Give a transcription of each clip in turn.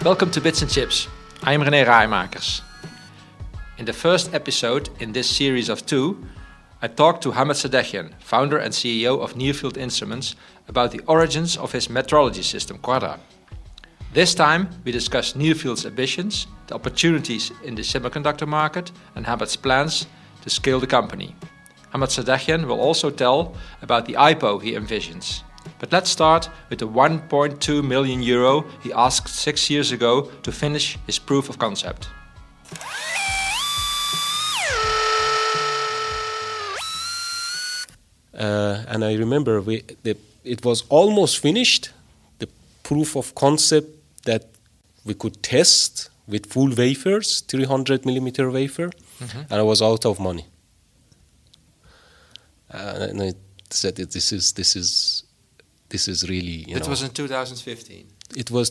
Welcome to Bits and Chips. I am René Raaimakers. In the first episode in this series of 2, I talked to Hamad Sadegian, founder and CEO of Nearfield Instruments, about the origins of his metrology system Quadra. This time we discussed Nearfield's ambitions, the opportunities in the semiconductor market, and Hamad's plans to scale the company. Hamad Sadegian will also tell about the IPO he envisions. But let's start with the 1.2 million euro he asked 6 years ago to finish his proof of concept. And I remember it was almost finished, the proof of concept that we could test with full wafers, 300 millimeter wafer, and I was out of money. And I said, this is really, It was in 2015. It was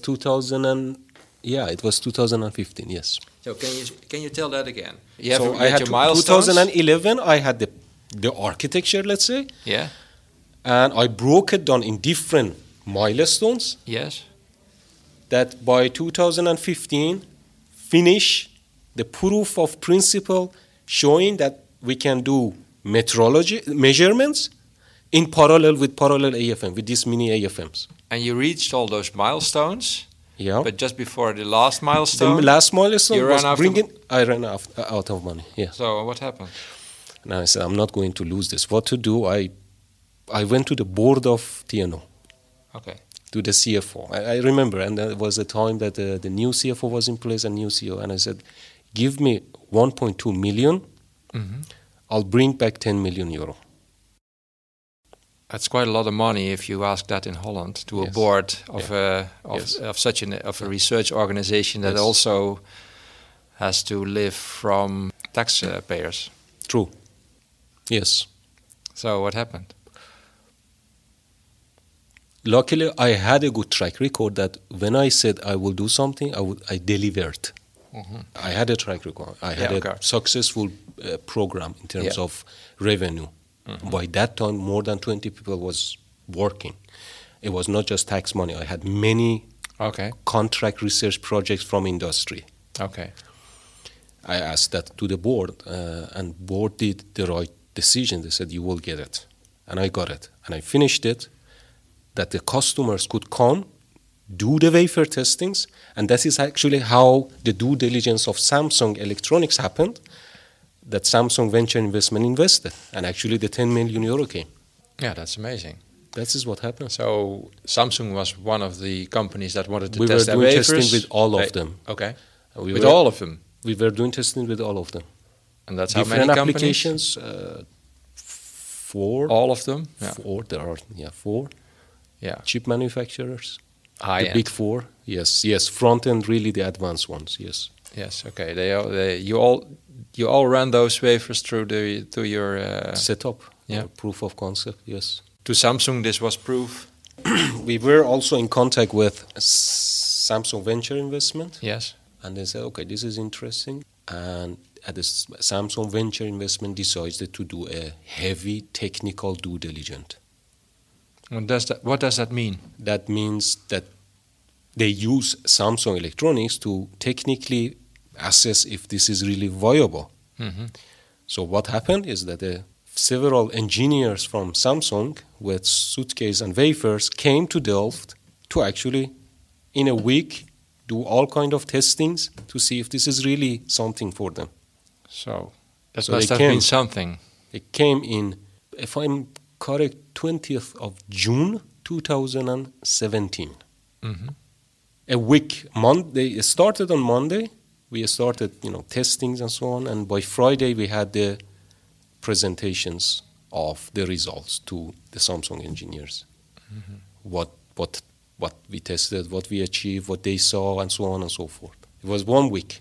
2015, yes. So can you tell that again? I had your milestones. 2011, I had the architecture, let's say. Yeah. And I broke it down in different milestones. Yes. That by 2015, finish the proof of principle showing that we can do metrology measurements in parallel with parallel AFM, with these mini AFMs. And you reached all those milestones. Yeah. But just before the last milestone, the last milestone you was ran I ran out of money. Yeah. So what happened? And I said, I'm not going to lose this. What to do? I went to the board of TNO. Okay. To the CFO. I remember, and there was a time that the new CFO was in place and new CEO, and I said, give me 1.2 million, I'll bring back 10 million euro. That's quite a lot of money if you ask that in Holland to a board of such a research organization that also has to live from taxpayers. True. Yes. So what happened? Luckily, I had a good track record that when I said I will do something, I delivered. I had a track record. I had a successful program in terms of revenue. By that time, more than 20 people was working. It was not just tax money. I had many contract research projects from industry. Okay. I asked that to the board, and board did the right decision. They said, you will get it. And I got it. And I finished it, that the customers could come, do the wafer testings, and that is actually how the due diligence of Samsung Electronics happened, that Samsung Venture Investment invested, and actually the 10 million euro came. Yeah, that's amazing. That is what happened. So Samsung was one of the companies that wanted to test their wafers. We were doing wafers. testing with all of them. Okay. With all of them? We were doing testing with all of them. And that's different how many applications? 4. All of them? Yeah. 4. There are 4. Yeah. Chip manufacturers. High the end. big 4. Yes. Front end, really the advanced ones. Yes. Yes. Okay. You all ran those wafers through your setup. Proof of concept. Yes. To Samsung, this was proof. We were also in contact with Samsung Venture Investment. Yes. And they said, okay, this is interesting. And at the Samsung Venture Investment decided to do a heavy technical due diligence. What does that mean? That means that they use Samsung Electronics to technically assess if this is really viable. So what happened is that several engineers from Samsung with suitcase and wafers came to Delft to actually, in a week, do all kind of testings to see if this is really something for them. So that must have been something. It came in, if I'm correct, 20th of June 2017. A week, Monday. It started on Monday. We started, testings and so on. And by Friday, we had the presentations of the results to the Samsung engineers. What we tested, what we achieved, what they saw, and so on and so forth. It was 1 week.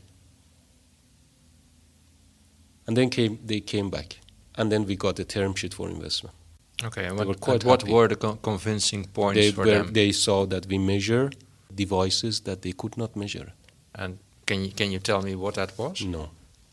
And then they came back. And then we got the term sheet for investment. Okay, and what were the convincing points for them? They saw that we measure devices that they could not measure. And can you tell me what that was? No.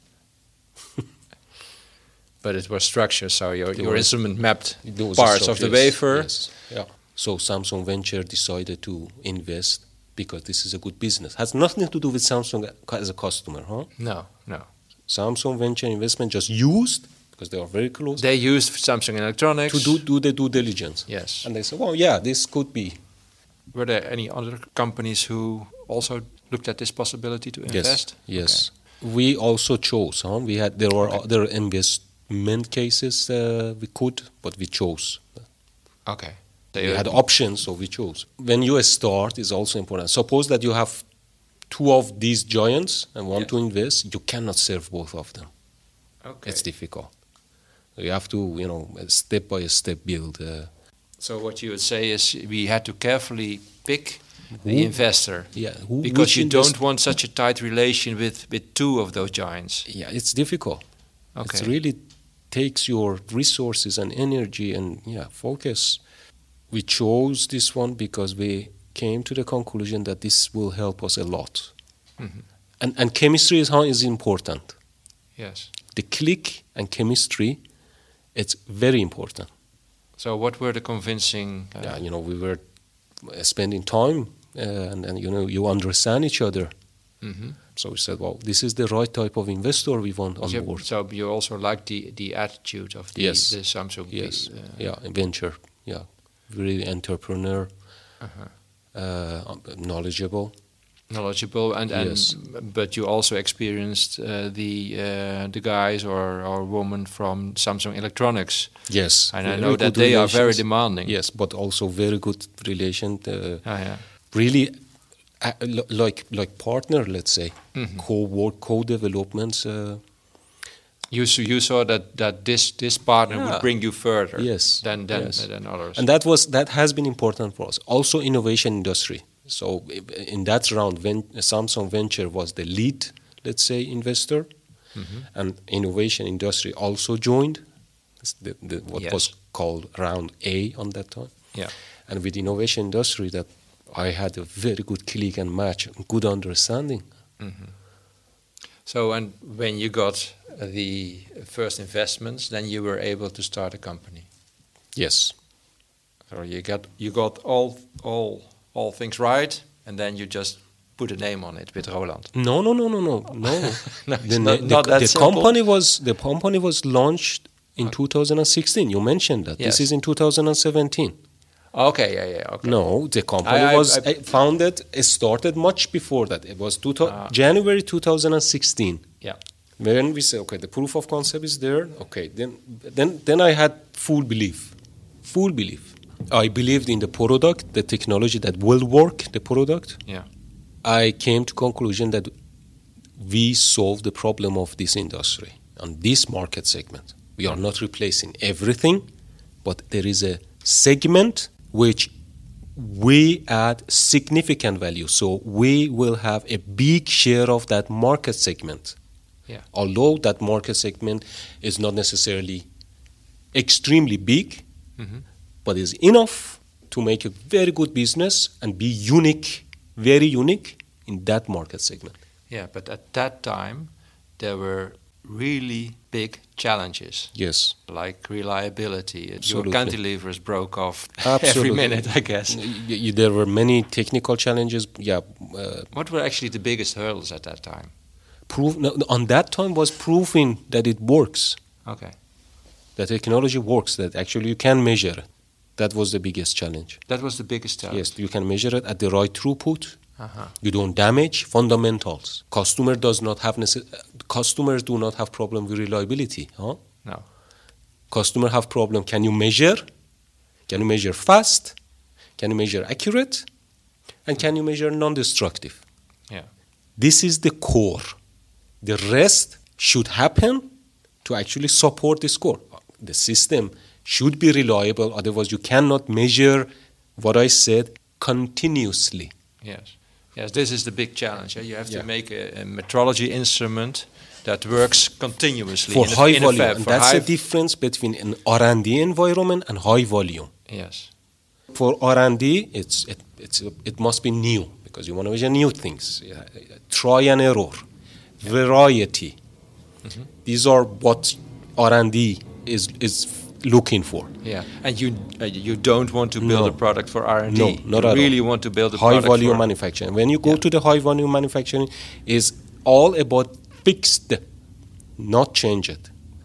But it was structured, so your instrument mapped parts of the wafer. Yes. Yeah. So Samsung Venture decided to invest because this is a good business. Has nothing to do with Samsung as a customer, huh? No. Samsung Venture Investment just used, because they are very close, They used Samsung Electronics to do the due diligence. Yes. And they said, well, yeah, this could be. Were there any other companies who also looked at this possibility to invest? Yes. We also chose. There were other investment cases we could, but we chose. Okay. We had options, so we chose. When you start, it's also important. Suppose that you have two of these giants and want to invest, you cannot serve both of them. Okay. It's difficult. You have to, step by step build. So what you would say is we had to carefully pick the investor. Yeah. Because you don't want such a tight relation with two of those giants. Yeah, it's difficult. Okay. It really takes your resources and energy and focus. We chose this one because we came to the conclusion that this will help us a lot. Mm-hmm. And chemistry is important. Yes. The click and chemistry, it's very important. So what were the convincing... we were spending time and you understand each other. Mm-hmm. So we said, well, this is the right type of investor we want on board. So you also like the attitude of the Samsung... Yes, venture, really entrepreneur, knowledgeable, but you also experienced the guys or women from Samsung Electronics. Yes, and I know that they are very demanding. Yes, but also very good relation. Really, like partner, let's say, co-work, co-developments. You saw that this partner would bring you further than others. And that has been important for us. Also innovation industry. So in that round, Samsung Venture was the lead, let's say, investor. Mm-hmm. And innovation industry also joined. It's what was called round A on that time. Yeah. And with innovation industry, that I had a very good click and match, good understanding. Mm-hmm. So, and when you got the first investments, then you were able to start a company. Yes. So you got all things right, and then you just put a name on it with Roland. No. No, the company was launched in 2016. You mentioned that. Yes. This is in 2017. Okay. No, the company was founded. It started much before that. It was January 2016. Yeah. When we say, okay, the proof of concept is there. Okay, then I had full belief. I believed in the product, the technology that will work. The product. Yeah. I came to conclusion that we solved the problem of this industry on this market segment. We are not replacing everything, but there is a segment which we add significant value. So we will have a big share of that market segment. Yeah. Although that market segment is not necessarily extremely big, but is enough to make a very good business and be unique, very unique in that market segment. Yeah, but at that time, there were really big challenges. Yes. Like reliability. Absolutely. Your cantilevers broke off Absolutely. every minute, I guess. There were many technical challenges. What were actually the biggest hurdles at that time? On that time was proving that it works. Okay. The technology works, that actually you can measure it. That was the biggest challenge. That was the biggest challenge? Yes, you can measure it at the right throughput. You don't damage fundamentals. Customers do not have problem with reliability. Huh? No. Customer have problem. Can you measure? Can you measure fast? Can you measure accurate? And can you measure non-destructive? Yeah. This is the core. The rest should happen to actually support this core. The system should be reliable, otherwise you cannot measure what I said continuously. Yes, this is the big challenge. You have to make a metrology instrument that works continuously for high volume. And that's the difference between an R&D environment and high volume. Yes. For R&D, it must be new, because you want to measure new things. Try and error, variety. These are what R&D is looking for. Yeah, and you don't want to build a product for R&D. No, not at all. You really want to build a high product volume for manufacturing. When you go to the high volume manufacturing, is all about fixed, not change it.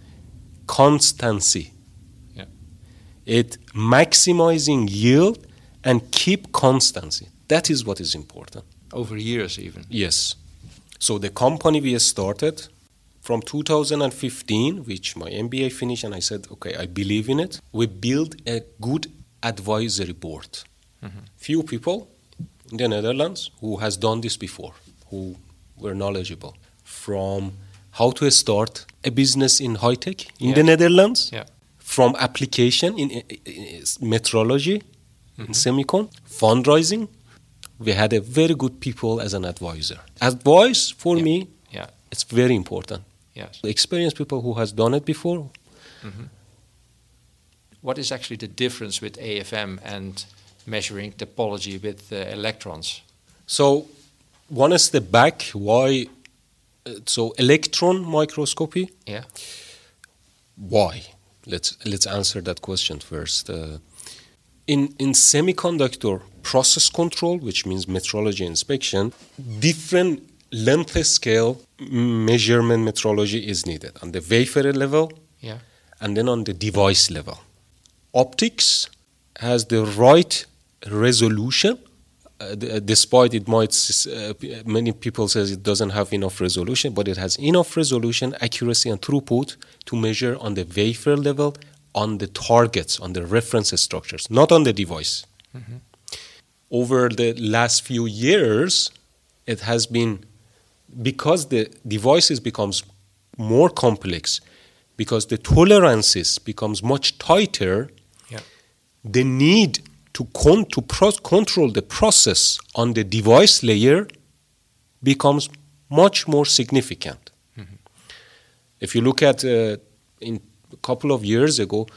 Constancy. Yeah. It maximizing yield and keep constancy. That is what is important. over years even. Yes. So the company we started from 2015, which my MBA finished, and I said, okay, I believe in it. We built a good advisory board. Mm-hmm. Few people in the Netherlands who has done this before, who were knowledgeable from how to start a business in high tech in the Netherlands, from application in metrology, in semicon, fundraising. We had a very good people as an advisor. Advice for me, it's very important. Yes. The experienced people who has done it before. Mm-hmm. What is actually the difference with AFM and measuring topology with electrons? So, one step back, why? So, electron microscopy. Yeah. Why? Let's answer that question first. In semiconductor process control, which means metrology inspection, different length scale measurement metrology is needed on the wafer level, and then on the device level. Optics has the right resolution, despite it might many people says it doesn't have enough resolution, but it has enough resolution, accuracy, and throughput to measure on the wafer level, on the targets, on the reference structures, not on the device. Mm-hmm. Over the last few years, it has been, because the devices becomes more complex, because the tolerances becomes much tighter, the need to control the process on the device layer becomes much more significant. Mm-hmm. If you look at in a couple of years ago,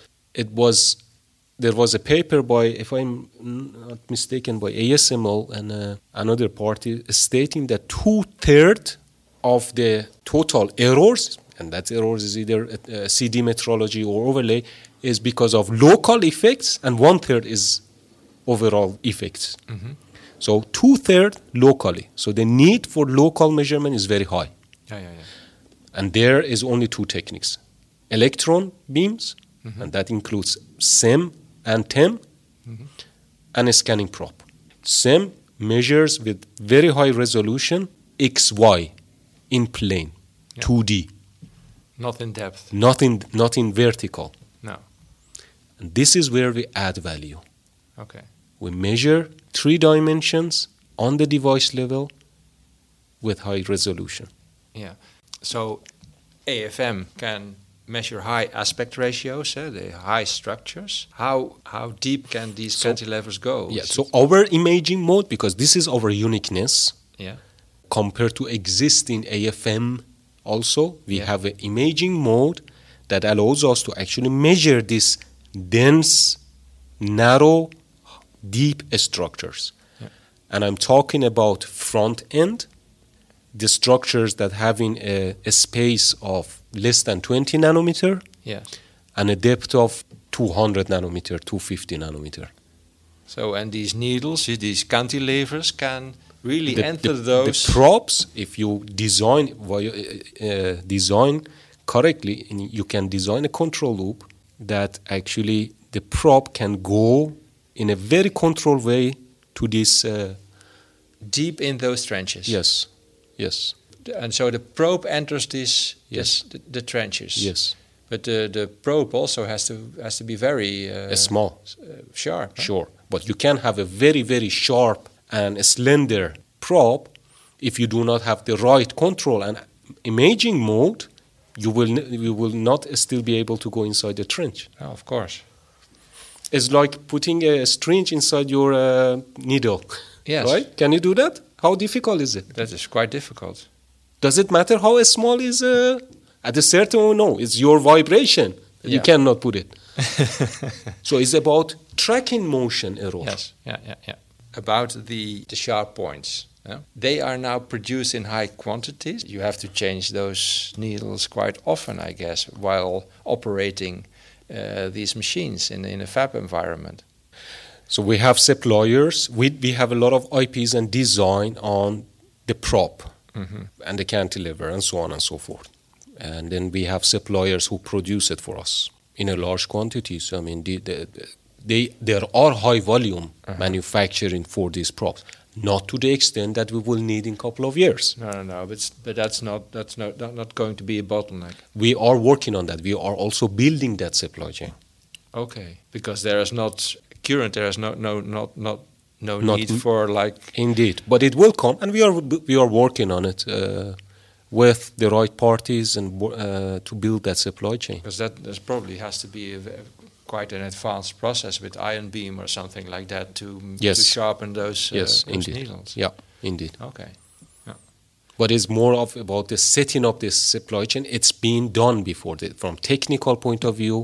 there was a paper by, if I'm not mistaken, by ASML and another party stating that 2/3 of the total errors, and that errors is either CD metrology or overlay, is because of local effects, and 1/3 is overall effects. Mm-hmm. So 2/3 locally. So the need for local measurement is very high. And there is only two techniques: electron beams, and that includes SEM and TEM, and a scanning probe. SEM measures with very high resolution XY in plane, 2D. Not in depth. Not in vertical. No. And this is where we add value. Okay. We measure 3 dimensions on the device level with high resolution. Yeah. So AFM can measure high aspect ratios, the high structures. How deep can these cantilevers go? Yeah. So our imaging mode, because this is our uniqueness, compared to existing AFM also, we have an imaging mode that allows us to actually measure these dense, narrow, deep structures. And I'm talking about front end, the structures that having a space of less than 20 nanometer and a depth of 200 nanometer, 250 nanometer. So, and these needles, these cantilevers can really enter those... The probes, if you design correctly, you can design a control loop that actually the probe can go in a very controlled way to this... deep in those trenches. Yes. And so the probe enters the trenches. Yes. But the probe also has to be very small, sharp. Huh? Sure, but you can have a very, very sharp and a slender probe. If you do not have the right control and imaging mode, you will not still be able to go inside the trench. Oh, of course. It's like putting a syringe inside your needle. Yes. Right? Can you do that? How difficult is it? That is quite difficult. Does it matter how small is at a certain no? It's your vibration. You cannot put it. So it's about tracking motion error. Yes. Yeah. About the sharp points. They are now produced in high quantities. You have to change those needles quite often, I guess, while operating these machines in a fab environment? So we have suppliers. We have a lot of IPs and design on the prop and the cantilever and so on and so forth. And then we have suppliers who produce it for us in a large quantity. So I mean, there are high volume manufacturing for these props, not to the extent that we will need in a couple of years. No. But that's not going to be a bottleneck. We are working on that. We are also building that supply chain. Okay, because there is no need for like. Indeed, but it will come, and we are working on it with the right parties and to build that supply chain. Because that probably has to be quite an advanced process with ion beam or something like that to sharpen those needles. Yeah, indeed. Okay. Yeah. But it's more about the setting up this supply chain. It's been done before. From technical point of view,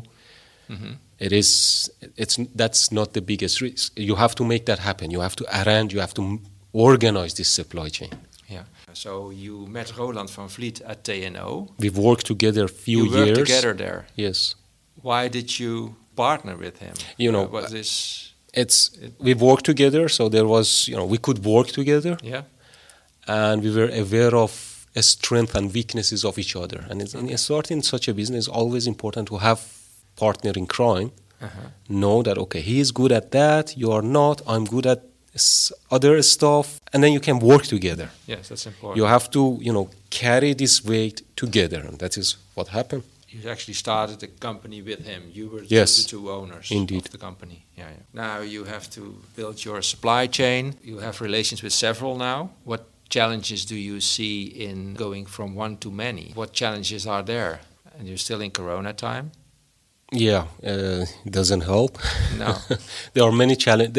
that's not the biggest risk. You have to make that happen. You have to arrange. You have to organize this supply chain. Yeah. So you met Roland van Vliet at TNO. We've worked together a few years. You worked together there. Yes. Why did you partner with him? We've worked together, so there was, we could work together. Yeah. And we were aware of the strengths and weaknesses of each other. And starting such a business, it's always important to have partner in crime. Know that, okay, he is good at that, you are not, I'm good at other stuff, and then you can work together. Yes, that's important. You have to, carry this weight together, and that is what happened. You actually started the company with him. You were the two owners of the company. Yeah. Now you have to build your supply chain. You have relations with several now. What challenges do you see in going from one to many? What challenges are there? And you're still in Corona time. Yeah, it doesn't help. No, there are many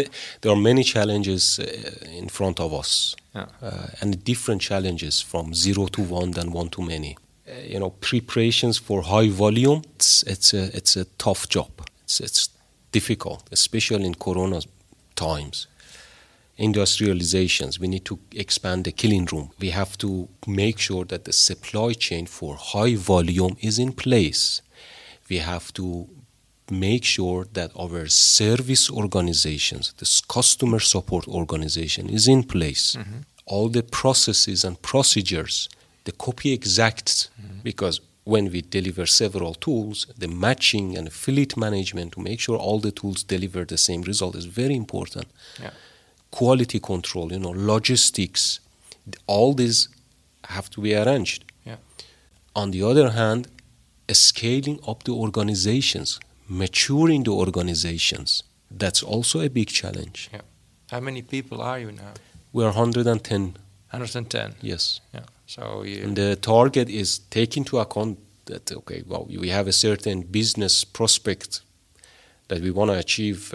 challenges in front of us, and different challenges from 0 to 1 than 1 to many. Preparations for high volume. It's a tough job. It's difficult, especially in Corona times. Industrializations. We need to expand the clean room. We have to make sure that the supply chain for high volume is in place. We have to make sure that our service organizations, this customer support organization is in place. All the processes and procedures, the copy exact, because when we deliver several tools, the matching and fleet management to make sure all the tools deliver the same result is very important. Yeah. Quality control, logistics, all these have to be arranged. Yeah. On the other hand, scaling up the organizations, maturing the organizations, that's also a big challenge. Yeah. How many people are you now? We are 110. 110? Yes. Yeah. So and the target is take into account that, we have a certain business prospect that we want to achieve,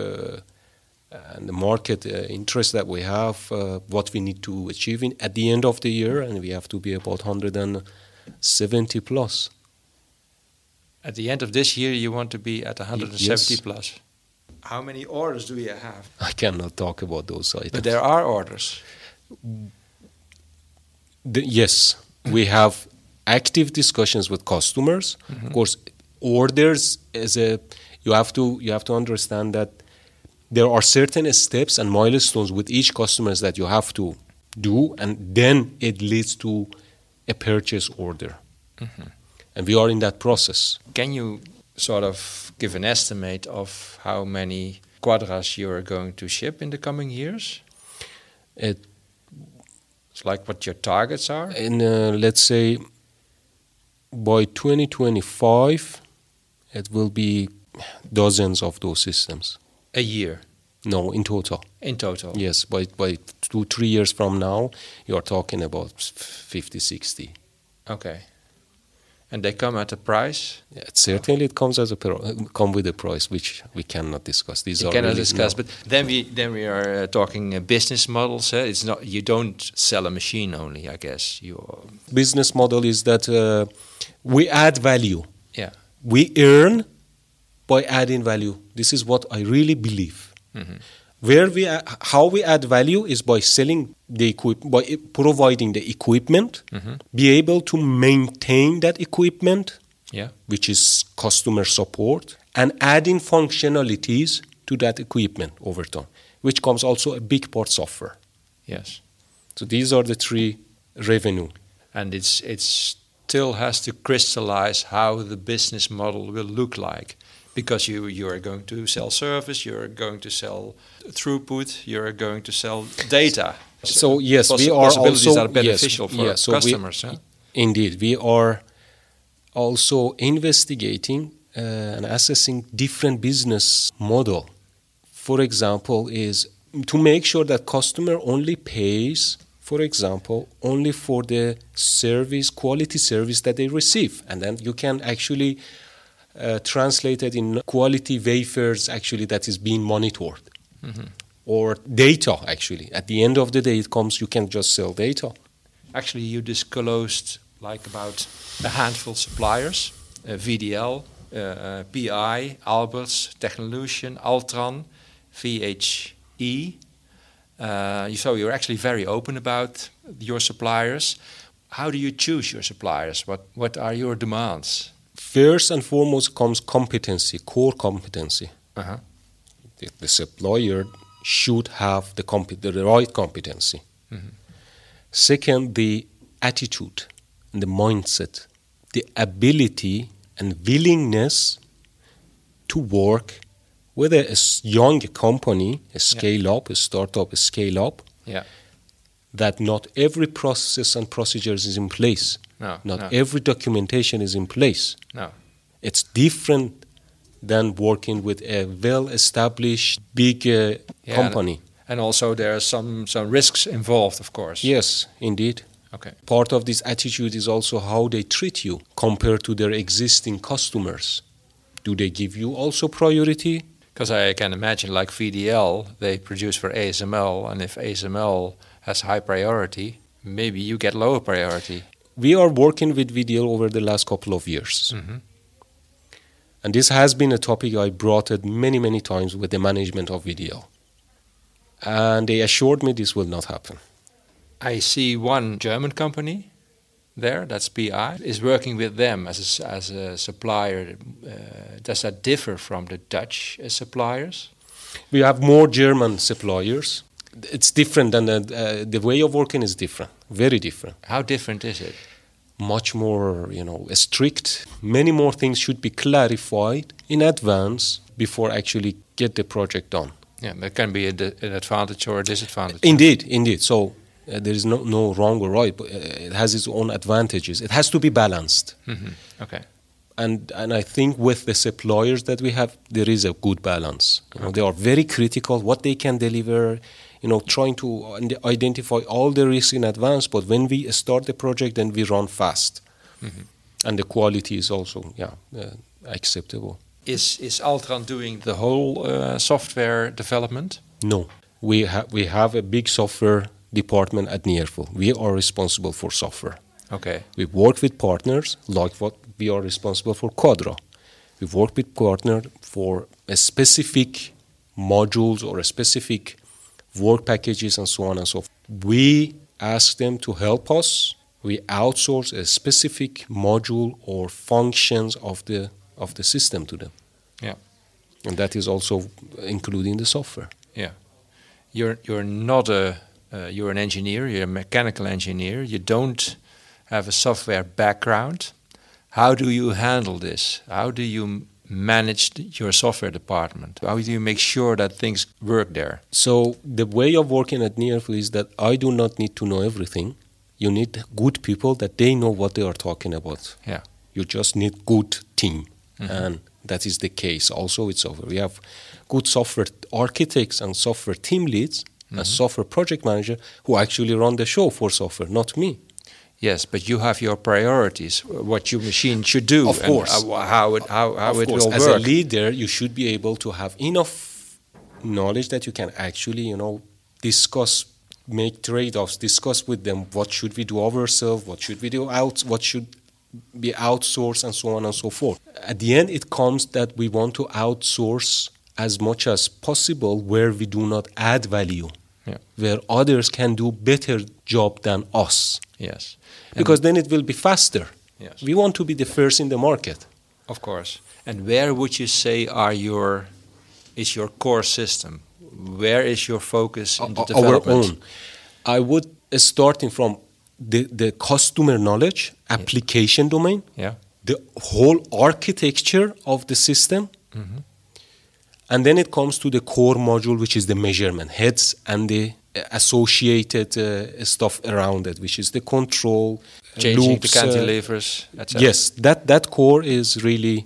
and the market interest that we have, what we need to achieve at the end of the year, and we have to be about 170 plus. At the end of this year, you want to be at 170 Yes. plus. How many orders do you have? I cannot talk about those items. But there are orders. Yes, we have active discussions with customers. Of course, orders you have to understand that there are certain steps and milestones with each customer that you have to do, and then it leads to a purchase order. And we are in that process. Can you sort of give an estimate of how many Quadras you are going to ship in the coming years? It's like what your targets are? Let's say by 2025, it will be dozens of those systems. A year? No, in total. In total? Yes, by 2-3 years from now, you are talking about 50, 60. Okay. And they come at a price? Yeah, certainly it comes come with a price, which we cannot discuss. These you cannot discuss, but then we are talking business models. It's not, you don't sell a machine only, I guess. Business model is that we add value. Yeah. We earn by adding value. This is what I really believe. How we add value is by selling by providing the equipment, be able to maintain that equipment, Yeah. which is customer support, and adding functionalities to that equipment over time, which comes also a big part software. Yes. So these are the three revenue. And it still has to crystallize how the business model will look like, because you are going to sell service, you are going to sell throughput, you are going to sell data. So yes, we are possibilities also that are beneficial for so customers. Indeed, we are also investigating and assessing different business model. For example, is to make sure that customer only pays, for example, only for the service, quality service that they receive, and then you can actually translate it in quality wafers actually that is being monitored. Mm-hmm. Or data, actually. At the end of the day, it comes, you can just sell data. Actually, you disclosed like about a handful of suppliers, VDL, PI, Alberts, Technolution, Altran, VHE. So you're actually very open about your suppliers. How do you choose your suppliers? What are your demands? First and foremost comes competency, core competency. Uh-huh. The supplier should have the right competency. Mm-hmm. Second, the attitude and the mindset, the ability and willingness to work with a young company, a scale-up, a startup, a scale-up, that not every process and procedures is in place. Not every documentation is in place. No. It's different than working with a well-established big company. And also there are some risks involved, of course. Yes, indeed. Okay. Part of this attitude is also how they treat you compared to their existing customers. Do they give you also priority? Because I can imagine, like VDL, they produce for ASML, and if ASML has high priority, maybe you get lower priority. We are working with VDL over the last couple of years. Mm-hmm. And this has been a topic I brought it many, many times with the management of VDL. And they assured me this will not happen. I see one German company there, that's PI, is working with them as a supplier. Does that differ from the Dutch suppliers? We have more German suppliers. It's different than the way of working is different, very different. How different is it? Much more, strict. Many more things should be clarified in advance before actually get the project done. Yeah, there can be an advantage or a disadvantage. Indeed. So there is no wrong or right, but it has its own advantages. It has to be balanced. Mm-hmm. Okay. And I think with the suppliers that we have, there is a good balance. They are very critical what they can deliver. Trying to identify all the risks in advance, but when we start the project, then we run fast. Mm-hmm. And the quality is also acceptable. Is Altran doing the whole software development? No. We have a big software department at Nearful. We are responsible for software. Okay. We work with partners, like what we are responsible for Quadra. We work with partners for a specific modules or a specific work packages and so on and so forth. We ask them to help us. We outsource a specific module or functions of the system to them. Yeah. And that is also including the software. Yeah. You're not you're an engineer, you're a mechanical engineer, you don't have a software background. How do you handle this? How do you manage your software department? How do you make sure that things work there? So the way of working at Nearful is that I do not need to know everything. You need good people that they know what they are talking about. Yeah. You just need good team. Mm-hmm. And that is the case also with software. We have good software architects and software team leads and software project manager who actually run the show for software, not me. Yes, but you have your priorities, what your machine should do, of course, and how it will work. As a leader, you should be able to have enough knowledge that you can actually, discuss, make trade-offs, discuss with them what should we do ourselves, what should we do what should be outsourced, and so on and so forth. At the end, it comes that we want to outsource as much as possible where we do not add value, where others can do better job than us. Yes. Because then it will be faster. Yes. We want to be the first in the market. Of course. And where would you say is your core system? Where is your focus in the development? Our own. I would starting from the customer knowledge, application domain, the whole architecture of the system, and then it comes to the core module, which is the measurement heads and the associated stuff around it, which is the control, changing loops, the cantilevers, etc. Yes, that core is really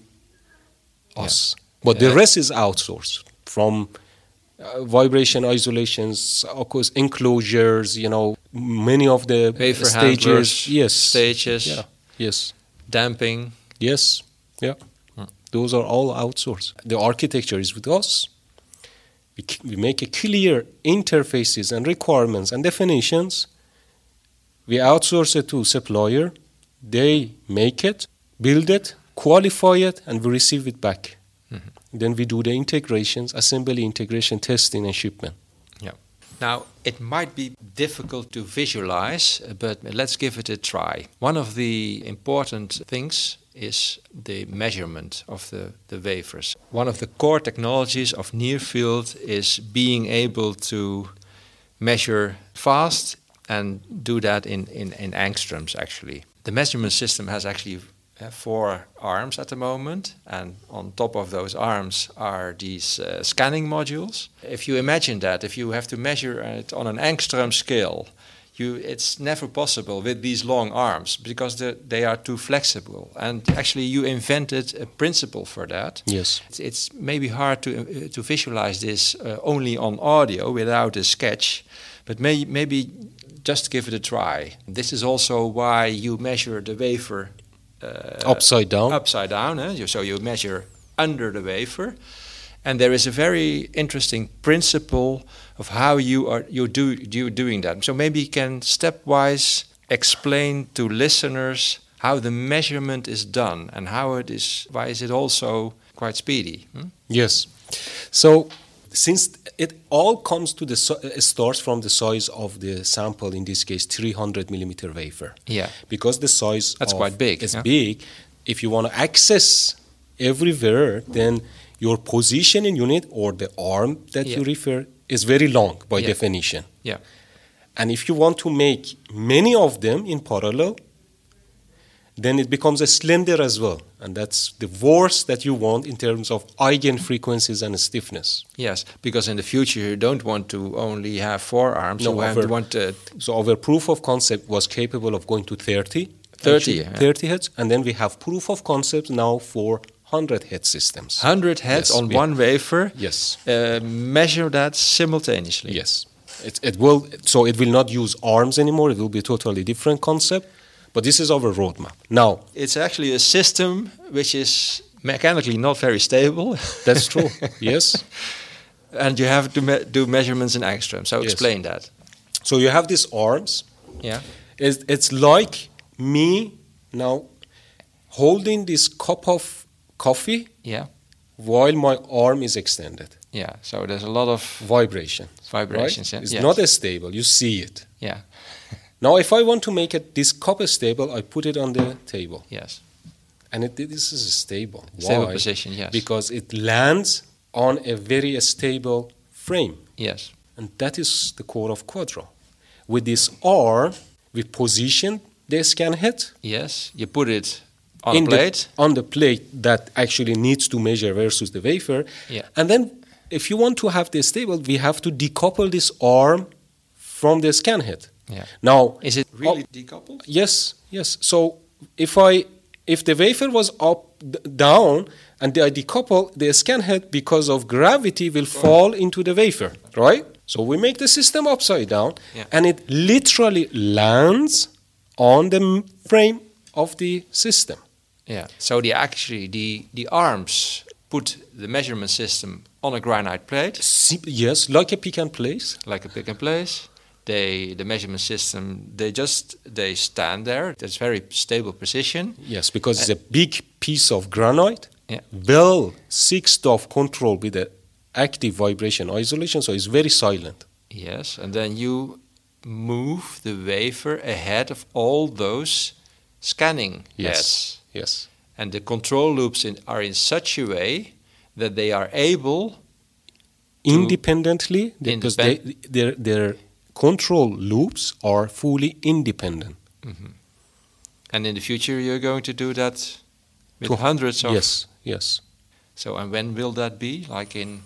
us. But the rest is outsourced from vibration isolations, of course, enclosures, many of the wafer stages. Handlers, yes. Stages. Yeah. Yes. Damping. Yes. Yeah. Those are all outsourced. The architecture is with us. We make a clear interfaces and requirements and definitions. We outsource it to supplier. They make it, build it, qualify it, and we receive it back. Then we do the integrations, assembly, integration, testing, and shipment. Yeah. Now, it might be difficult to visualize, but let's give it a try. One of the important things is the measurement of the wafers. One of the core technologies of near-field is being able to measure fast and do that in angstroms, actually. The measurement system has actually 4 arms at the moment, and on top of those arms are these scanning modules. If you imagine that, if you have to measure it on an angstrom scale, it's never possible with these long arms because they are too flexible. And actually, you invented a principle for that. Yes. It's maybe hard to visualize this only on audio without a sketch, but maybe just give it a try. This is also why you measure the wafer upside down. Upside down. So you measure under the wafer. And there is a very interesting principle of how you're doing that. So maybe you can stepwise explain to listeners how the measurement is done and why is it also quite speedy? Yes. So since it all comes to it starts from the size of the sample, in this case 300 millimeter wafer. Yeah. Because the size that's quite big. It's big. If you want to access everywhere, then your positioning unit or the arm that you refer is very long by definition. Yeah. And if you want to make many of them in parallel, then it becomes a slender as well. And that's the worst that you want in terms of eigenfrequencies and stiffness. Yes, because in the future you don't want to only have 4 arms. So our proof of concept was capable of going to 30 heads. And then we have proof of concept now for 100 head systems. 100 heads on one wafer. Yes. Measure that simultaneously. Yes. It will not use arms anymore. It will be a totally different concept. But this is our roadmap. Now, it's actually a system which is mechanically not very stable. That's true. Yes. And you have to do measurements in angstrom. So explain that. So you have these arms. Yeah. It's like me now holding this cup of coffee. Yeah. While my arm is extended. Yeah. So there's a lot of vibrations. Vibrations. Right? It's not as stable. You see it. Yeah. Now, if I want to make this cup stable, I put it on the table. Yes. And this is stable. Stable Why? position, yes. Because it lands on a very stable frame. Yes. And that is the core of Quadro. With this arm, we position the scan head. Yes. You put it on a plate. On the plate that actually needs to measure versus the wafer. Yeah. And then if you want to have this stable, we have to decouple this arm from the scan head. Yeah. Now, is it really decoupled? Yes. So if the wafer was down and I decouple, the scan head because of gravity will fall into the wafer, right? So we make the system upside down, and it literally lands on the frame of the system. Yeah. So the arms put the measurement system on a granite plate. Yes, like a pick and place. Like a pick and place. The measurement system, they stand there. That's very stable position. Yes, because it's a big piece of granite, well sixth of control with the active vibration isolation, so it's very silent. Yes, and then you move the wafer ahead of all those scanning Yes. heads. Yes. And the control loops are in such a way that they are able Independently, because their control loops are fully independent. And in the future, you're going to do that with hundreds of... Yes. So, and when will that be? Like in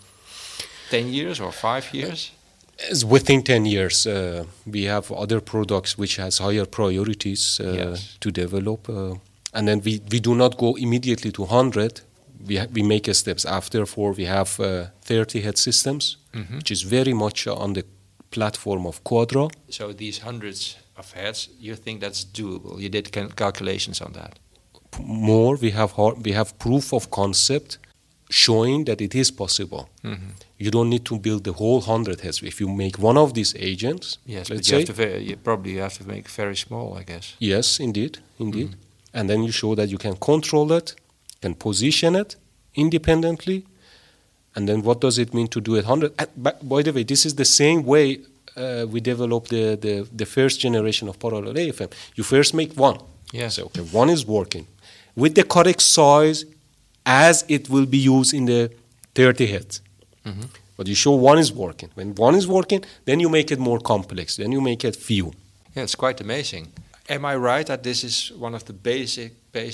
10 years or 5 years? As within 10 years. We have other products which has higher priorities to develop. And then we do not go immediately to 100. We make a steps after. We have 30 head systems, which is very much on the platform of Quadra. So these hundreds of heads, you think that's doable? You did calculations on that? More, we have proof of concept showing that it is possible. You don't need to build the whole 100 heads. If you make one of these agents, yes, let's but say, you probably have to make very small, I guess. Yes, indeed. And then you show that you can control it, can position it independently, and then what does it mean to do it 100? By the way, this is the same way we developed the first generation of parallel AFM. You first make one. Yes. So okay, one is working with the correct size as it will be used in the 30 heads. But you show one is working. When one is working, then you make it more complex. Then you make it few. Yeah, it's quite amazing. Am I right that this is one of the basic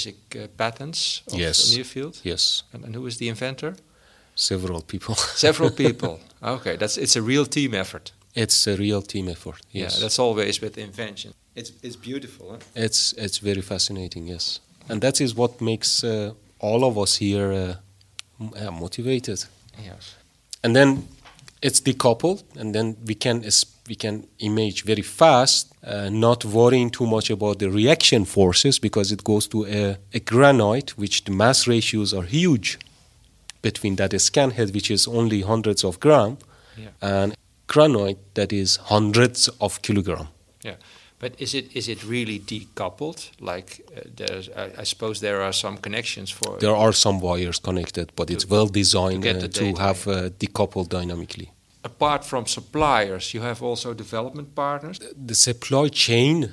patents of Nearfield? Yes. And who is the inventor? Several people. Several people. Okay, it's a real team effort. It's a real team effort. Yes. Yeah, that's always with invention. It's beautiful. Huh? It's very fascinating. Yes, and that is what makes all of us here motivated. Yes. And then it's decoupled, and then we can image very fast, not worrying too much about the reaction forces, because it goes to a granite, which the mass ratios are huge between that scan head, which is only hundreds of grams, and granite that is hundreds of kilograms. Yeah, but is it really decoupled? Like I suppose there are some connections for. There are some wires connected, but it's well designed to have decoupled dynamically. Apart from suppliers, you have also development partners. The supply chain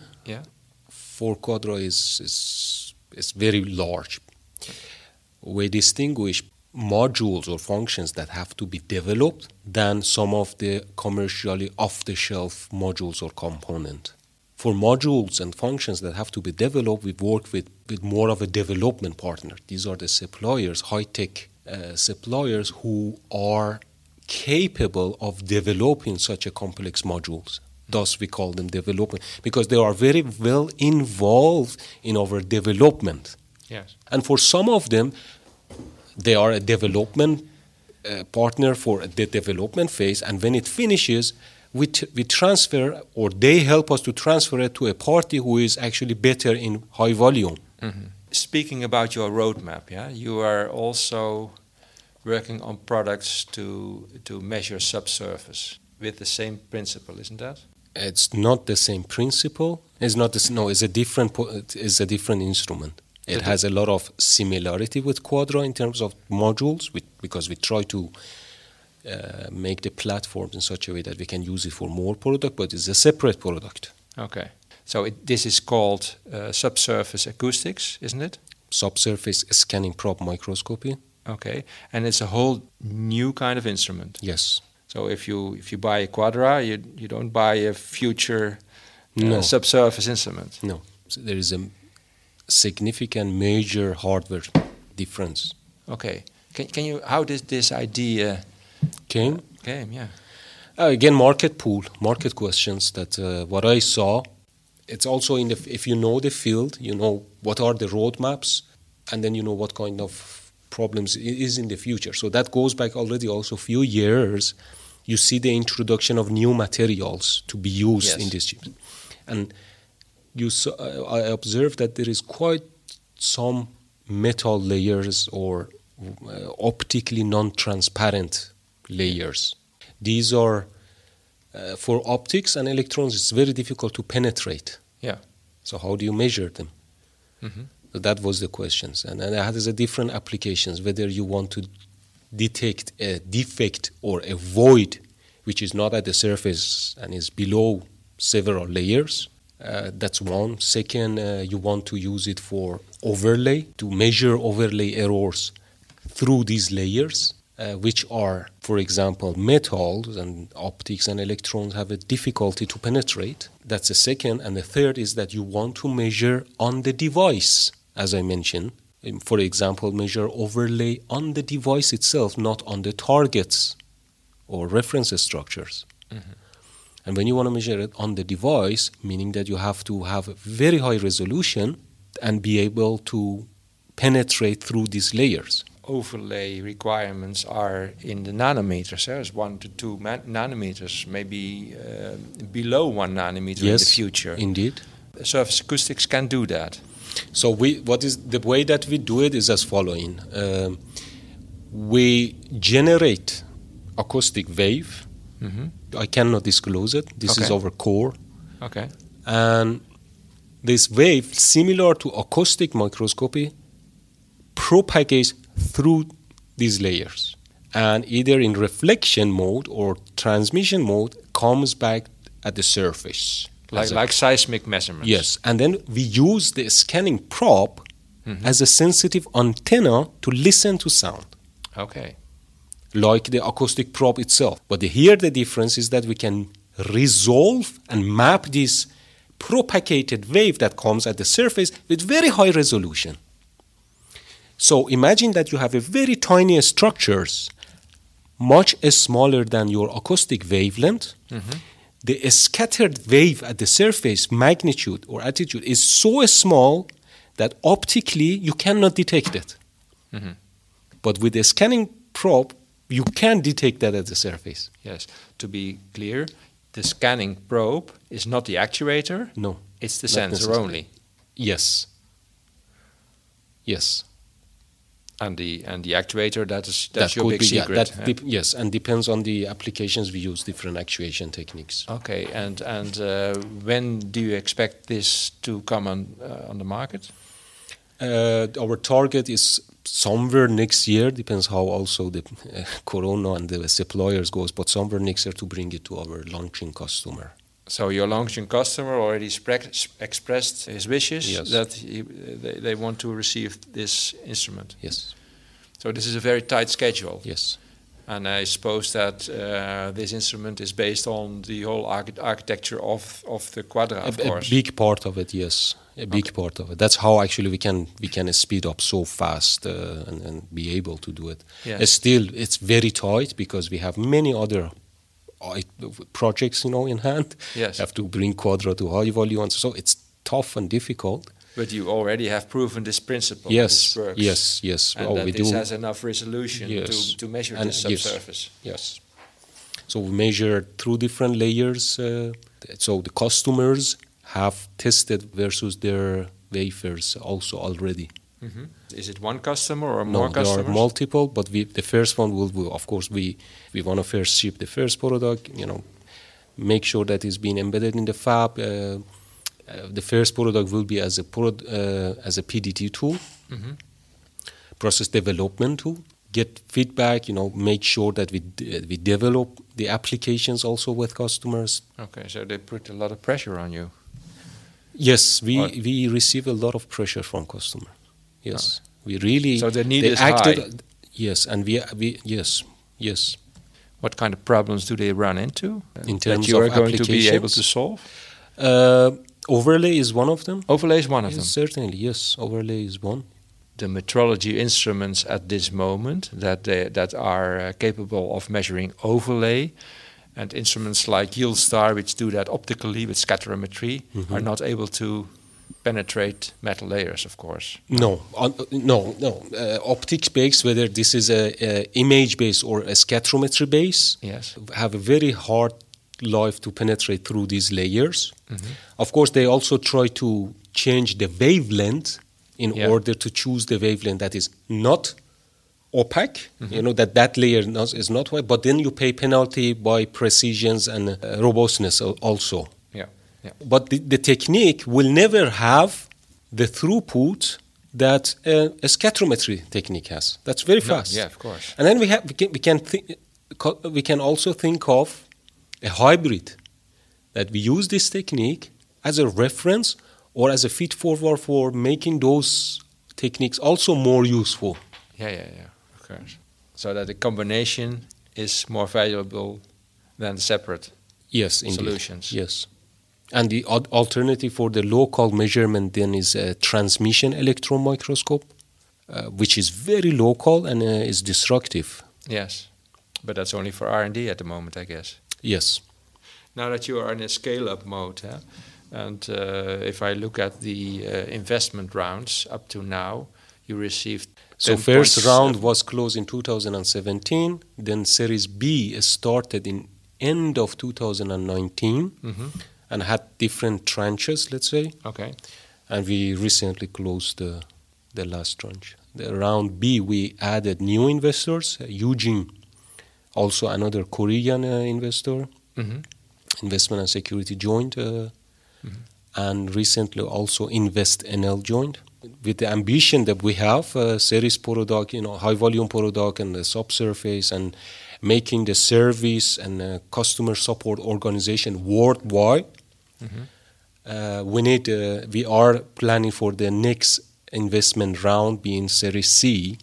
for Quadra is very large. We distinguish modules or functions that have to be developed than some of the commercially off-the-shelf modules or components. For modules and functions that have to be developed, we work with more of a development partner. These are the suppliers, high-tech suppliers who are capable of developing such a complex modules. Thus, we call them development, because they are very well involved in our development. Yes. And for some of them, they are a development partner for the development phase, and when it finishes, we transfer, or they help us to transfer it to a party who is actually better in high volume. Speaking about your roadmap, you are also working on products to measure subsurface with the same principle, isn't that? It's not the same principle. It's not this. No, it's a different instrument. It has a lot of similarity with Quadra in terms of modules, because we try to make the platforms in such a way that we can use it for more product, but it's a separate product. Okay. So this is called subsurface acoustics, isn't it? Subsurface scanning probe microscopy. Okay. And it's a whole new kind of instrument. Yes. So if you buy a Quadra, you don't buy a future subsurface instrument. No. So there is a significant major hardware difference. Okay. Can you, how did this idea came? Yeah. Again, market questions that what I saw, it's also if you know the field, you know what are the roadmaps, and then you know what kind of problems is in the future. So that goes back already also a few years. You see the introduction of new materials to be used in these chips. And I observed that there is quite some metal layers or optically non-transparent layers. These are, for optics and electrons, it's very difficult to penetrate. Yeah. So how do you measure them? So that was the questions. And it has a different applications, whether you want to detect a defect or a void which is not at the surface and is below several layers. That's one. Second, you want to use it for overlay, to measure overlay errors through these layers, which are, for example, metals and optics and electrons have a difficulty to penetrate. That's the second. And the third is that you want to measure on the device, as I mentioned. For example, measure overlay on the device itself, not on the targets or reference structures. Mm-hmm. And when you want to measure it on the device, meaning that you have to have a very high resolution and be able to penetrate through these layers. Overlay requirements are in the nanometers. There's 1 to 2 nanometers, maybe below 1 nanometer in the future. Indeed. Surface acoustics can do that. So the way that we do it is as following. We generate acoustic wave. Mm-hmm. I cannot disclose it. This is our core. Okay. And this wave, similar to acoustic microscopy, propagates through these layers. And either in reflection mode or transmission mode comes back at the surface. Like seismic measurements. Yes. And then we use the scanning probe as a sensitive antenna to listen to sound. Okay. Like the acoustic probe itself. But here the difference is that we can resolve and map this propagated wave that comes at the surface with very high resolution. So imagine that you have a very tiny structures, much smaller than your acoustic wavelength. Mm-hmm. The scattered wave at the surface magnitude or attitude is so small that optically you cannot detect it. Mm-hmm. But with the scanning probe, you can detect that at the surface. Yes. To be clear, the scanning probe is not the actuator. No. It's the sensor only. Yes. Yes. And the actuator, that's your big secret. Yes, and depends on the applications we use different actuation techniques. Okay, and when do you expect this to come on the market? Our target is somewhere next year. Depends how also the Corona and the suppliers goes, but somewhere next year to bring it to our launching customer. So your launching customer already expressed his wishes that they want to receive this instrument. Yes. So this is a very tight schedule. Yes. And I suppose that this instrument is based on the whole architecture of the Quadra, of course. A big part of it, yes. A big part of it. That's how actually we can speed up so fast and be able to do it. Yes. Still, it's very tight because we have many other projects, in hand. Yes. Have to bring Quadra to high volume, so it's tough and difficult. But you already have proven this principle. Yes. This works. Yes. And that this has enough resolution to measure the subsurface. Yes. So we measure through different layers. So the customers have tested versus their wafers also already. Mm-hmm. Is it one customer or more customers? There are multiple, but the first one will of course, we want to first ship the first product, make sure that it's been embedded in the fab. The first product will be as a PDT tool, mm-hmm. process development tool, get feedback, make sure that we develop the applications also with customers. Okay, so they put a lot of pressure on you. Yes, we receive a lot of pressure from customers. Yes, we really. So the need is high. Yes, and we yes. What kind of problems do they run into? In terms that you of are going applications? To be able to solve? Overlay is one of them. Overlay is one of them. Certainly, yes. Overlay is one. The metrology instruments at this moment that are capable of measuring overlay, and instruments like YieldStar, which do that optically with scatterometry, mm-hmm. are not able to penetrate metal layers, of course. No. Optics-based, whether this is a image-based or a scatterometry base, yes. have a very hard life to penetrate through these layers. Mm-hmm. Of course, they also try to change the wavelength in order to choose the wavelength that is not opaque, mm-hmm. that layer is not white, but then you pay penalty by precisions and robustness also. Yeah. But the technique will never have the throughput that a scatterometry technique has. That's very fast. Yeah, of course. And then we can also think of a hybrid, that we use this technique as a reference or as a feed forward for making those techniques also more useful. Yeah, of course. So that the combination is more valuable than separate solutions. Yes. And the alternative for the local measurement then is a transmission electron microscope, which is very local and is destructive. Yes, but that's only for R&D at the moment, I guess. Yes. Now that you are in a scale-up mode, and if I look at the investment rounds up to now, you received... So first round was closed in 2017, then Series B started in end of 2019 and had different tranches, let's say. Okay. And we recently closed the last tranche. The round B, we added new investors, Eugene, also another Korean investor, Investment and Security joined, and recently also Invest NL joined. With the ambition that we have, series product, high volume product and the subsurface, and making the service and customer support organization worldwide, we are planning for the next investment round being Series C,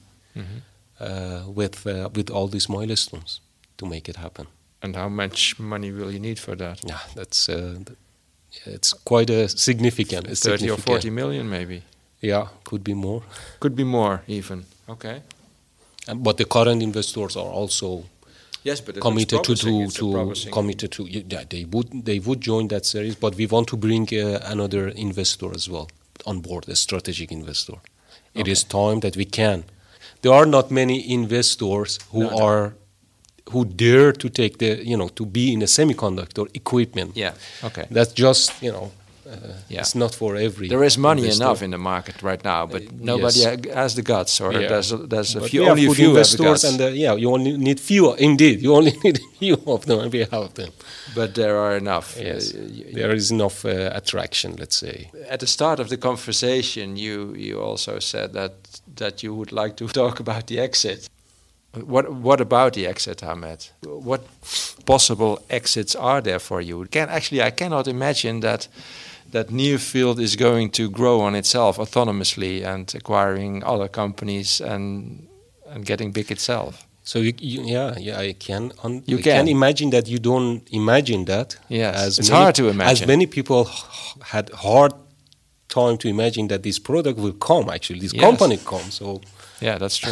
with all these milestones to make it happen. And how much money will you need for that? Yeah, that's it's quite a significant. 30 or 40 million, maybe. Yeah, could be more. Could be more, even. Okay. But the current investors are also committed to. Yeah, they would join that series. But we want to bring another investor as well on board, a strategic investor. It is time that we can. There are not many investors who dare to take to be in a semiconductor equipment. Yeah. Okay. That's just it's not for every. There is money investor. Enough in the market right now, but nobody has the guts, or there's a few. Only a few investors, and you only need few. Indeed, you only need few of them, and we have them. But there are enough. Yes, there is enough attraction. Let's say. At the start of the conversation, you also said that you would like to talk about the exit. What about the exit, Ahmed? What possible exits are there for you? I cannot imagine that Nearfield is going to grow on itself autonomously and acquiring other companies and getting big itself. So I can. You can imagine that. You don't imagine that. Yes, it's hard to imagine. As many people had hard time to imagine that this product will come. Actually, this company comes. So yeah, that's true.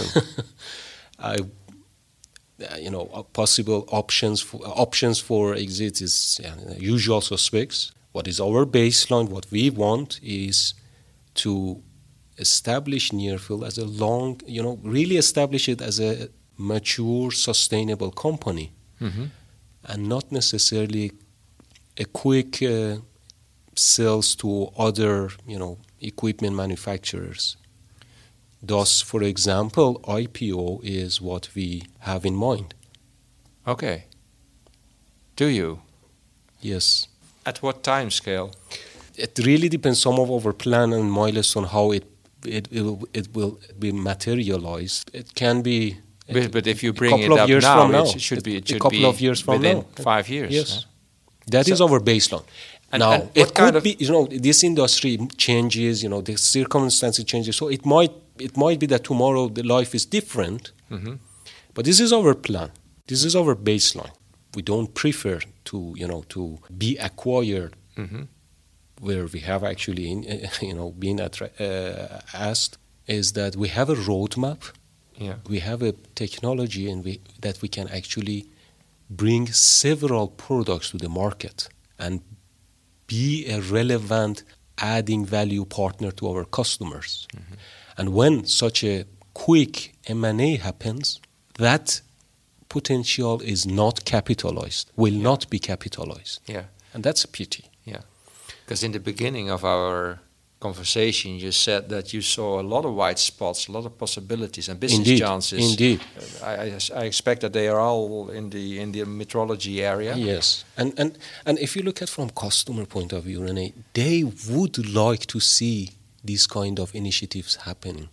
Possible options for exit is usual suspects. What is our baseline? What we want is to establish Nearfield as really establish it as a mature, sustainable company, and not necessarily a quick sales to other, equipment manufacturers. Thus, for example, IPO is what we have in mind. Okay. Do you? Yes. At what time scale? It really depends some of our plan and milestone how it will be materialized. It can be. But if you bring it up now, it should be a couple of years from within now. 5 years. Yes. That is our baseline. Now, it could be, this industry changes, the circumstances changes. So it might be that tomorrow the life is different. But this is our plan. This is our baseline. We don't prefer to be acquired where we have actually, been asked, is that we have a roadmap. Yeah. We have a technology that we can actually bring several products to the market and be a relevant adding value partner to our customers. And when such a quick M&A happens, that potential is not capitalized, will not be capitalized. Yeah. And that's a pity. Yeah. Because in the beginning of our conversation, you said that you saw a lot of white spots, a lot of possibilities and business chances. Indeed. I expect that they are all in the metrology area. Yes. And if you look at from customer point of view, René, they would like to see these kind of initiatives happening.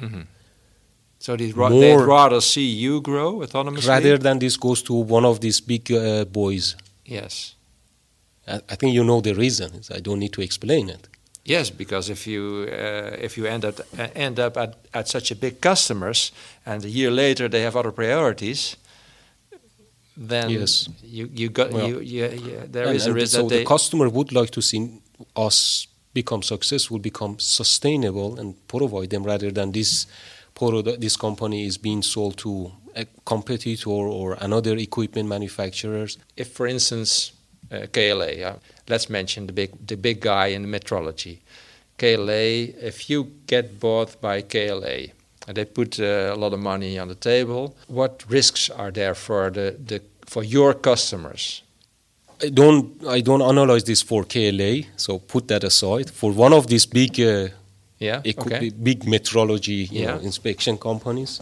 So they'd rather see you grow autonomously? Rather than this goes to one of these big boys. Yes. I think you know the reason. I don't need to explain it. Yes, because if you end up at such a big customers, and a year later they have other priorities, then yes. there is a risk so that they... the customer would like to see us become successful, become sustainable, and provide them rather than this company is being sold to a competitor or another equipment manufacturers. If, for instance, KLA, let's mention the big guy in metrology. KLA, if you get bought by KLA and they put a lot of money on the table, what risks are there for for your customers? I don't analyze this for KLA, so put that aside. For one of these big, big metrology inspection companies,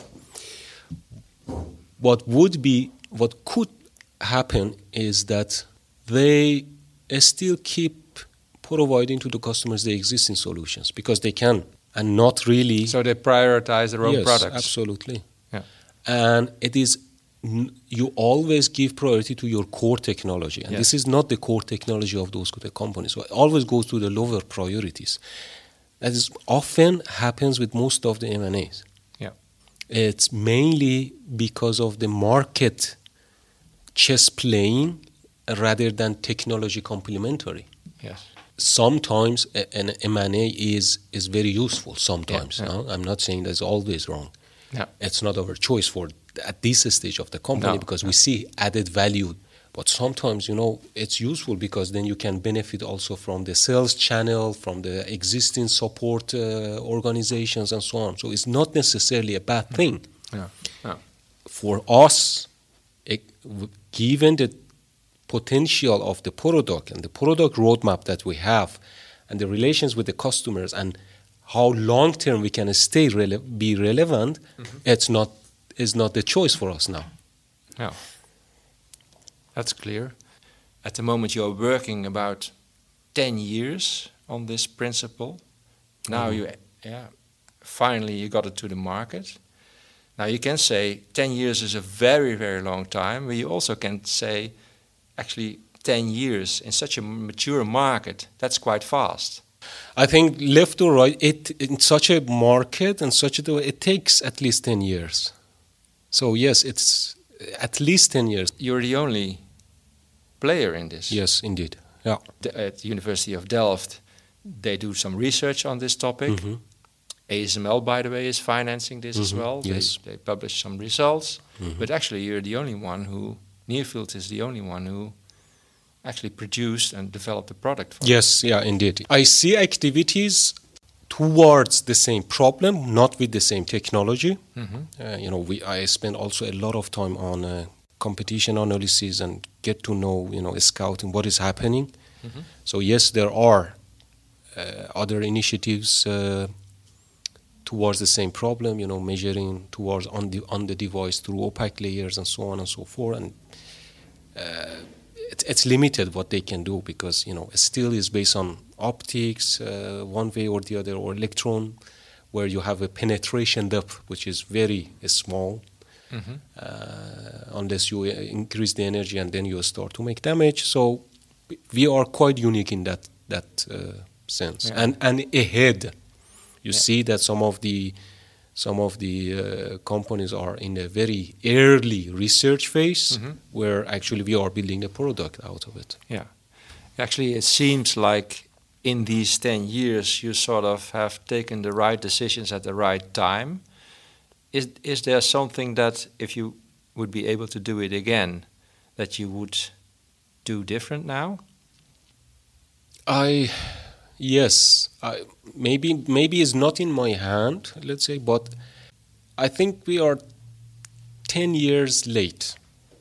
what could happen is that they still keep providing to the customers the existing solutions because they can, and not really. So they prioritize their own products. Yes, absolutely. Yeah. And it is. You always give priority to your core technology, and this is not the core technology of those companies. So it always goes to the lower priorities. That is often happens with most of the M&As. Yeah, it's mainly because of the market chess playing rather than technology complementary. Yes. Sometimes an M&A is very useful. Sometimes, no? I'm not saying that's always wrong. Yeah. It's not our choice at this stage of the company because we see added value. But sometimes, it's useful because then you can benefit also from the sales channel, from the existing support organizations and so on. So it's not necessarily a bad thing. Yeah. Yeah. For us, given the potential of the product and the product roadmap that we have and the relations with the customers and how long-term we can be relevant, it's not the choice for us now. Yeah, that's clear. At the moment, you're working about 10 years on this principle. Now finally you got it to the market. Now you can say 10 years is a very, very long time, but you also can say actually 10 years in such a mature market, that's quite fast. I think left or right, in such a market and it takes at least 10 years. So yes, it's at least 10 years. You're the only player in this. Yes, indeed. Yeah. At the University of Delft, they do some research on this topic. Mm-hmm. ASML, by the way, is financing this as well. Yes. They publish some results. Mm-hmm. But actually, you're the only one Nearfield is the only one who actually produced and developed the product for Yes, indeed. I see activities towards the same problem, not with the same technology. Mm-hmm. I spend also a lot of time on competition analysis and get to know, scouting what is happening. Mm-hmm. So yes, there are other initiatives towards the same problem, measuring towards on the device through opaque layers and so on and so forth. And it's limited what they can do because it still is based on optics one way or the other, or electron, where you have a penetration depth which is very small. Mm-hmm. Unless you increase the energy and then you start to make damage. So we are quite unique in that sense, and ahead. You see that some of the companies are in a very early research phase, mm-hmm. where actually we are building a product out of it. Yeah, actually, it seems like in these 10 years you sort of have taken the right decisions at the right time. Is there something that, if you would be able to do it again, that you would do different now? Yes, maybe it's not in my hand, let's say, but I think we are 10 years late.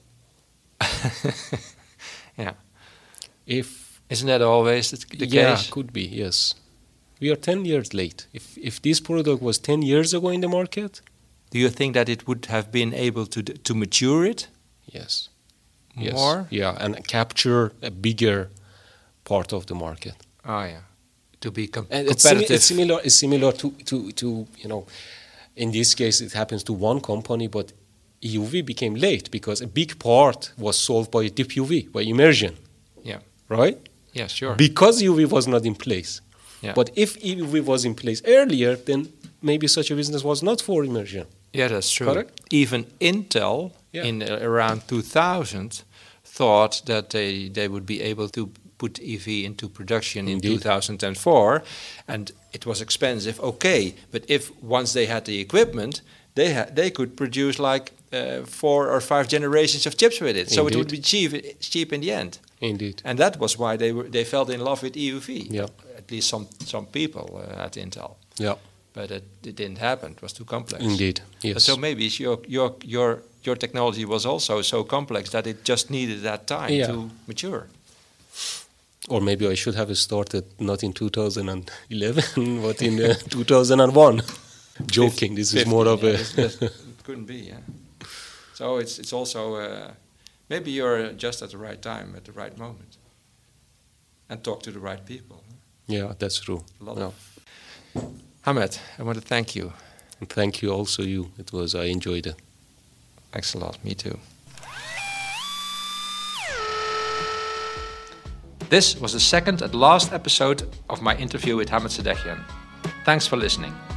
Yeah. Isn't that always the case? Yeah, could be, yes. We are 10 years late. If this product was 10 years ago in the market... Do you think that it would have been able to mature it? Yes. More? Yes. Yeah, and capture a bigger part of the market. Oh, yeah. To be competitive. It's similar to in this case it happens to one company, but EUV became late because a big part was solved by deep UV, by immersion. Yeah. Right? Yeah, sure. Because EUV was not in place. Yeah. But if EUV was in place earlier, then maybe such a business was not for immersion. Yeah, that's true. Correct? Even Intel Yeah. in around 2000 thought that they would be able to put EV into production in Indeed. 2004, and it was expensive. Okay, but if once they had the equipment, they could produce like 4 or 5 generations of chips with it. So it would be cheap in the end. Indeed. And that was why they fell in love with EUV. Yeah. At least some people at Intel. Yeah. But it didn't happen. It was too complex. Indeed. Yes. So maybe your technology was also so complex that it just needed that time to mature. Or maybe I should have started not in 2011, but in 2001. Joking. This is more of a. It couldn't be. Yeah. So it's also maybe you're just at the right time at the right moment, and talk to the right people. Yeah, that's true. Hamed, I want to thank you. And thank you also you. I enjoyed it. Thanks a lot. Me too. This was the second and last episode of my interview with Hamed Sadeghian. Thanks for listening.